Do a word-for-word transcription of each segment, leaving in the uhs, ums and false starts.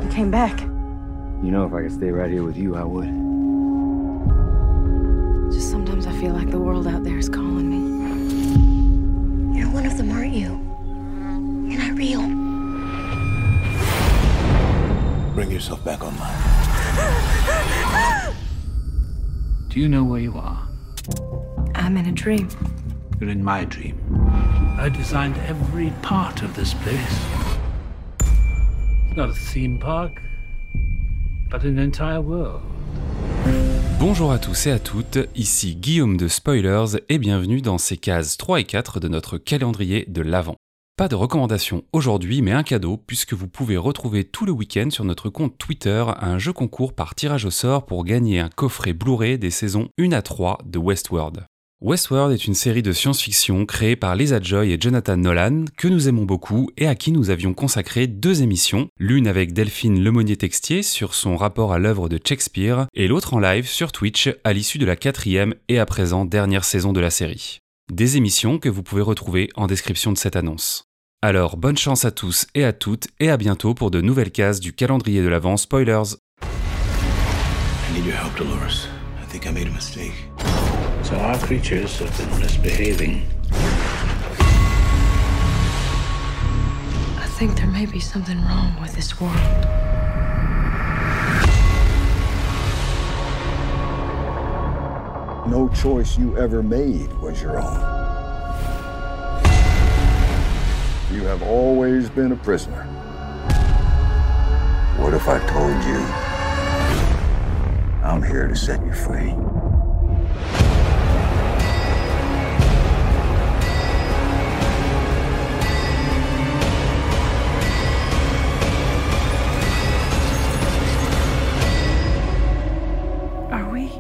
came back. You know, if I could stay right here with you, I would. Just sometimes I feel like the world out there is calling me. You're one of them, aren't you? You're not real. Bring yourself back online. Do you know where you are? I'm in a dream. You're in my dream. I designed every part of this place. It's not a theme park, but an entire world. Bonjour à tous et à toutes, ici Guillaume de Spoilers et bienvenue dans ces cases trois et quatre de notre calendrier de l'Avent. Pas de recommandation aujourd'hui, mais un cadeau puisque vous pouvez retrouver tout le week-end sur notre compte Twitter un jeu concours par tirage au sort pour gagner un coffret Blu-ray des saisons un à trois de Westworld. Westworld est une série de science-fiction créée par Lisa Joy et Jonathan Nolan, que nous aimons beaucoup et à qui nous avions consacré deux émissions, l'une avec Delphine Lemonnier-Textier sur son rapport à l'œuvre de Shakespeare, et l'autre en live sur Twitch à l'issue de la quatrième et à présent dernière saison de la série. Des émissions que vous pouvez retrouver en description de cette annonce. Alors bonne chance à tous et à toutes et à bientôt pour de nouvelles cases du calendrier de l'Avent Spoilers. I need your help, Dolores. I think I made a mistake. So our creatures have been misbehaving. I think there may be something wrong with this world. No choice you ever made was your own. You have always been a prisoner. What if I told you I'm here to set you free? Are we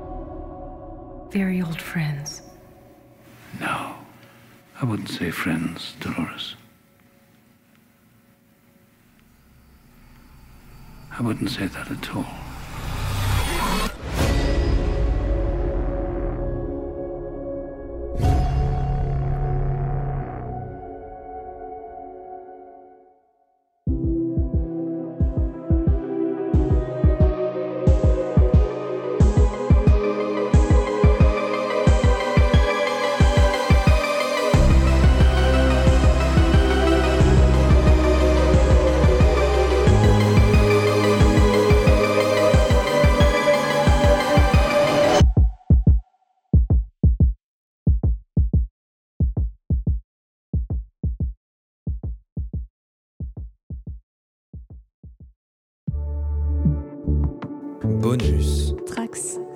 very old friends? No, I wouldn't say friends, Dolores. I wouldn't say that at all. Bonus. Trax.